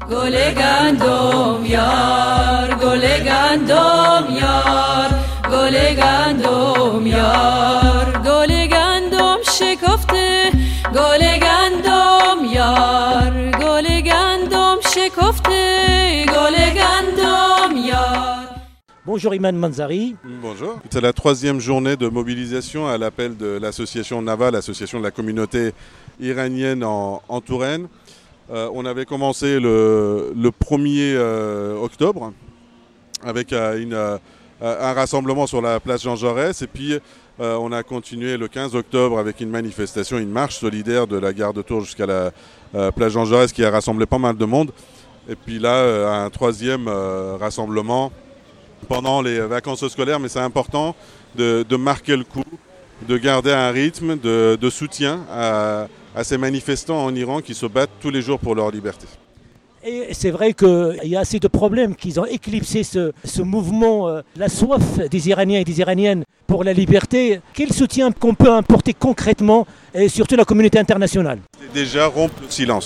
گل گندم یار گل گندم یار گل گندم یار گل گندم شکفته گل گندم یار گل گندم شکفته گل گندم یار. Bonjour Iman Manzari. Bonjour. C'est la troisième journée de mobilisation à l'appel de l'association NAVA, l'association de la communauté iranienne en Touraine. On avait commencé le 1er octobre avec un rassemblement sur la place Jean Jaurès et puis on a continué le 15 octobre avec une manifestation, une marche solidaire de la gare de Tours jusqu'à la place Jean Jaurès qui a rassemblé pas mal de monde. Et puis là, un troisième rassemblement pendant les vacances scolaires, mais c'est important de marquer le coup, de garder un rythme de soutien à ces manifestants en Iran qui se battent tous les jours pour leur liberté. Et c'est vrai qu'il y a assez de problèmes qui ont éclipsé ce mouvement, la soif des Iraniens et des Iraniennes pour la liberté. Quel soutien qu'on peut apporter concrètement et surtout la communauté internationale? C'est déjà rompre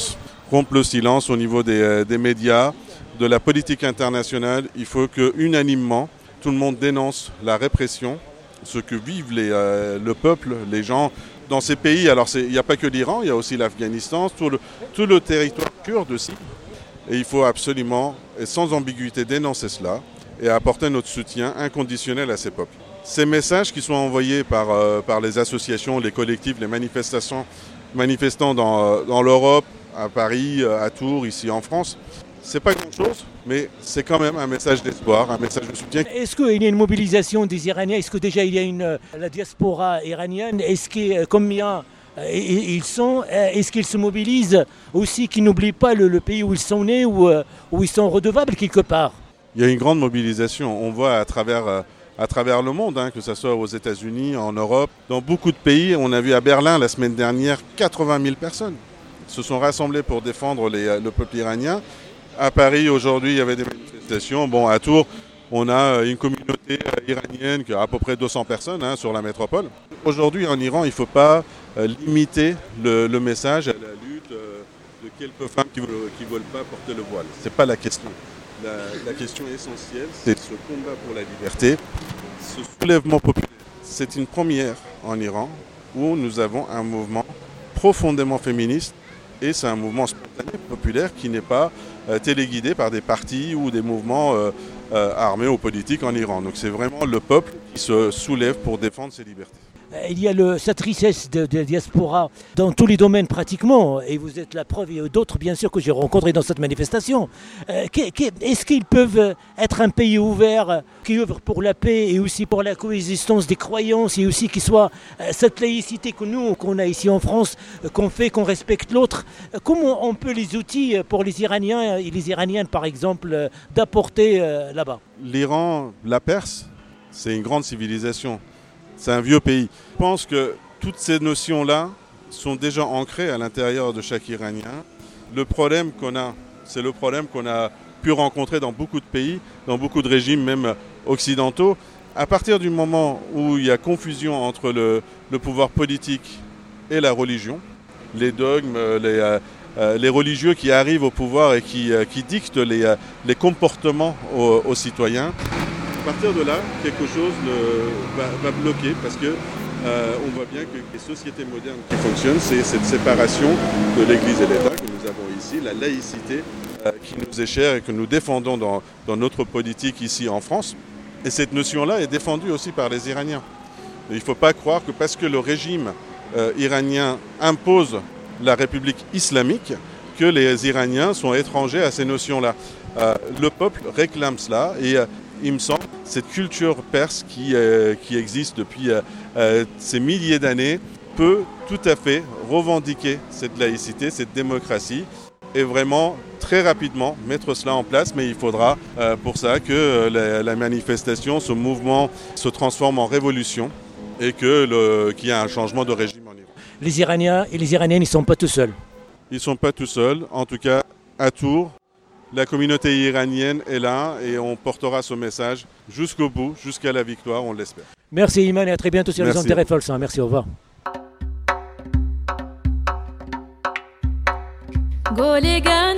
le silence au niveau des médias, de la politique internationale. Il faut que unanimement tout le monde dénonce la répression, ce que vivent le peuple, les gens dans ces pays. Alors il n'y a pas que l'Iran, il y a aussi l'Afghanistan, tout le territoire kurde aussi. Et il faut absolument et sans ambiguïté dénoncer cela et apporter notre soutien inconditionnel à ces peuples. Ces messages qui sont envoyés par les associations, les collectifs, les manifestants dans l'Europe, à Paris, à Tours, ici en France, c'est pas grand-chose, mais c'est quand même un message d'espoir, un message de soutien. Est-ce qu'il y a une mobilisation des Iraniens? Est-ce que déjà il y a la diaspora iranienne? Est-ce que combien ils sont? Est-ce qu'ils se mobilisent aussi, qu'ils n'oublient pas le pays où ils sont nés, où ils sont redevables quelque part? Il y a une grande mobilisation. On voit à travers le monde, que ce soit aux États-Unis, en Europe, dans beaucoup de pays. On a vu à Berlin la semaine dernière 80 000 personnes se sont rassemblées pour défendre le peuple iranien. À Paris, aujourd'hui, il y avait des manifestations. Bon, à Tours, on a une communauté iranienne qui a à peu près 200 personnes sur la métropole. Aujourd'hui, en Iran, il ne faut pas limiter le message à la lutte de quelques femmes qui ne veulent pas porter le voile. Ce n'est pas la question. La question essentielle, c'est ce combat pour la liberté, ce soulèvement populaire. C'est une première en Iran où nous avons un mouvement profondément féministe et c'est un mouvement spontané, populaire, qui n'est pas téléguidé par des partis ou des mouvements armés ou politiques en Iran. Donc c'est vraiment le peuple qui se soulève pour défendre ses libertés. Il y a cette richesse de diaspora dans tous les domaines pratiquement, et vous êtes la preuve, et d'autres bien sûr que j'ai rencontrés dans cette manifestation. Est-ce qu'ils peuvent être un pays ouvert, qui œuvre pour la paix et aussi pour la coexistence des croyances, et aussi qui soit cette laïcité qu'on a ici en France, qu'on respecte l'autre? Comment on peut les outils pour les Iraniens et les Iraniennes par exemple d'apporter là-bas? L'Iran, la Perse, c'est une grande civilisation. C'est un vieux pays. Je pense que toutes ces notions-là sont déjà ancrées à l'intérieur de chaque Iranien. Le problème qu'on a, c'est le problème qu'on a pu rencontrer dans beaucoup de pays, dans beaucoup de régimes, même occidentaux. À partir du moment où il y a confusion entre le pouvoir politique et la religion, les dogmes, les religieux qui arrivent au pouvoir et qui dictent les comportements aux citoyens, à partir de là, quelque chose va bloquer parce que on voit bien que les sociétés modernes qui fonctionnent, c'est cette séparation de l'Église et l'État que nous avons ici, la laïcité qui nous est chère et que nous défendons dans notre politique ici en France. Et cette notion-là est défendue aussi par les Iraniens. Il ne faut pas croire que parce que le régime iranien impose la République islamique, que les Iraniens sont étrangers à ces notions-là. Le peuple réclame cela et il me semble cette culture perse qui existe depuis ces milliers d'années peut tout à fait revendiquer cette laïcité, cette démocratie et vraiment très rapidement mettre cela en place. Mais il faudra pour ça que la manifestation, ce mouvement se transforme en révolution et qu'il y ait un changement de régime en Iran. Les Iraniens et les Iraniennes, ils ne sont pas tout seuls. Ils ne sont pas tout seuls, en tout cas à Tours. La communauté iranienne est là et on portera ce message jusqu'au bout, jusqu'à la victoire, on l'espère. Merci Iman et à très bientôt sur les Merci. ondes de RFI. Merci, au revoir. گل گندم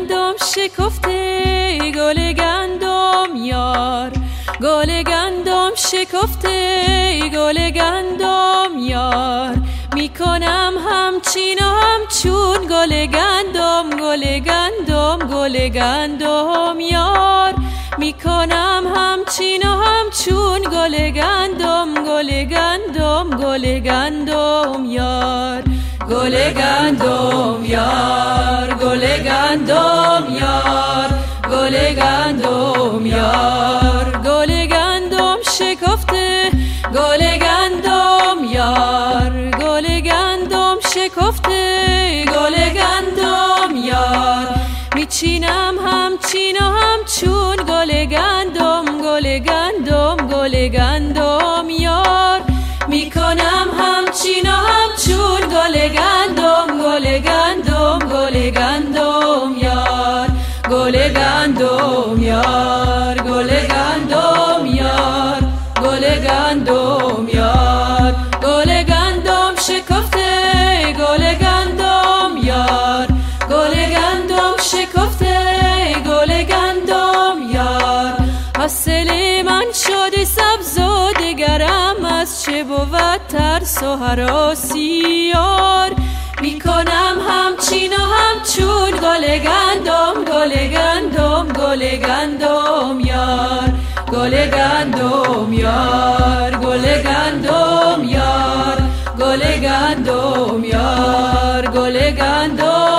شکفته گل گندم یار گل گندم شکفته گل گندم یار میکنم همچین و همچون گل گندم گل گندم گل گندم یار میکنم همچین و همچون گل گندم گل گندم گل گندم یار گل گندم یار گل گندم یار گل گندم یار گل گندم شکفته گل گندم یار گل گندم شکفته گل گندم یار میچینم همچین و همچون گل گندم گل گندم گل گندم یار میکنم همچین و همچون گل گندم گل گندم گل گندم یار گل گندم یار گل گندم یار گل گندم یار گل گندم شکفته گل گندم یار گل گندم شکفته گل گندم یار حاصل من شده سبز و دگرم از چه بود ترس و هراسی یار میکنم همچین و همچون گل گندم گل گندم گل گندم یار گل گندم یار گل گندم یار گل گندم یار گل گندم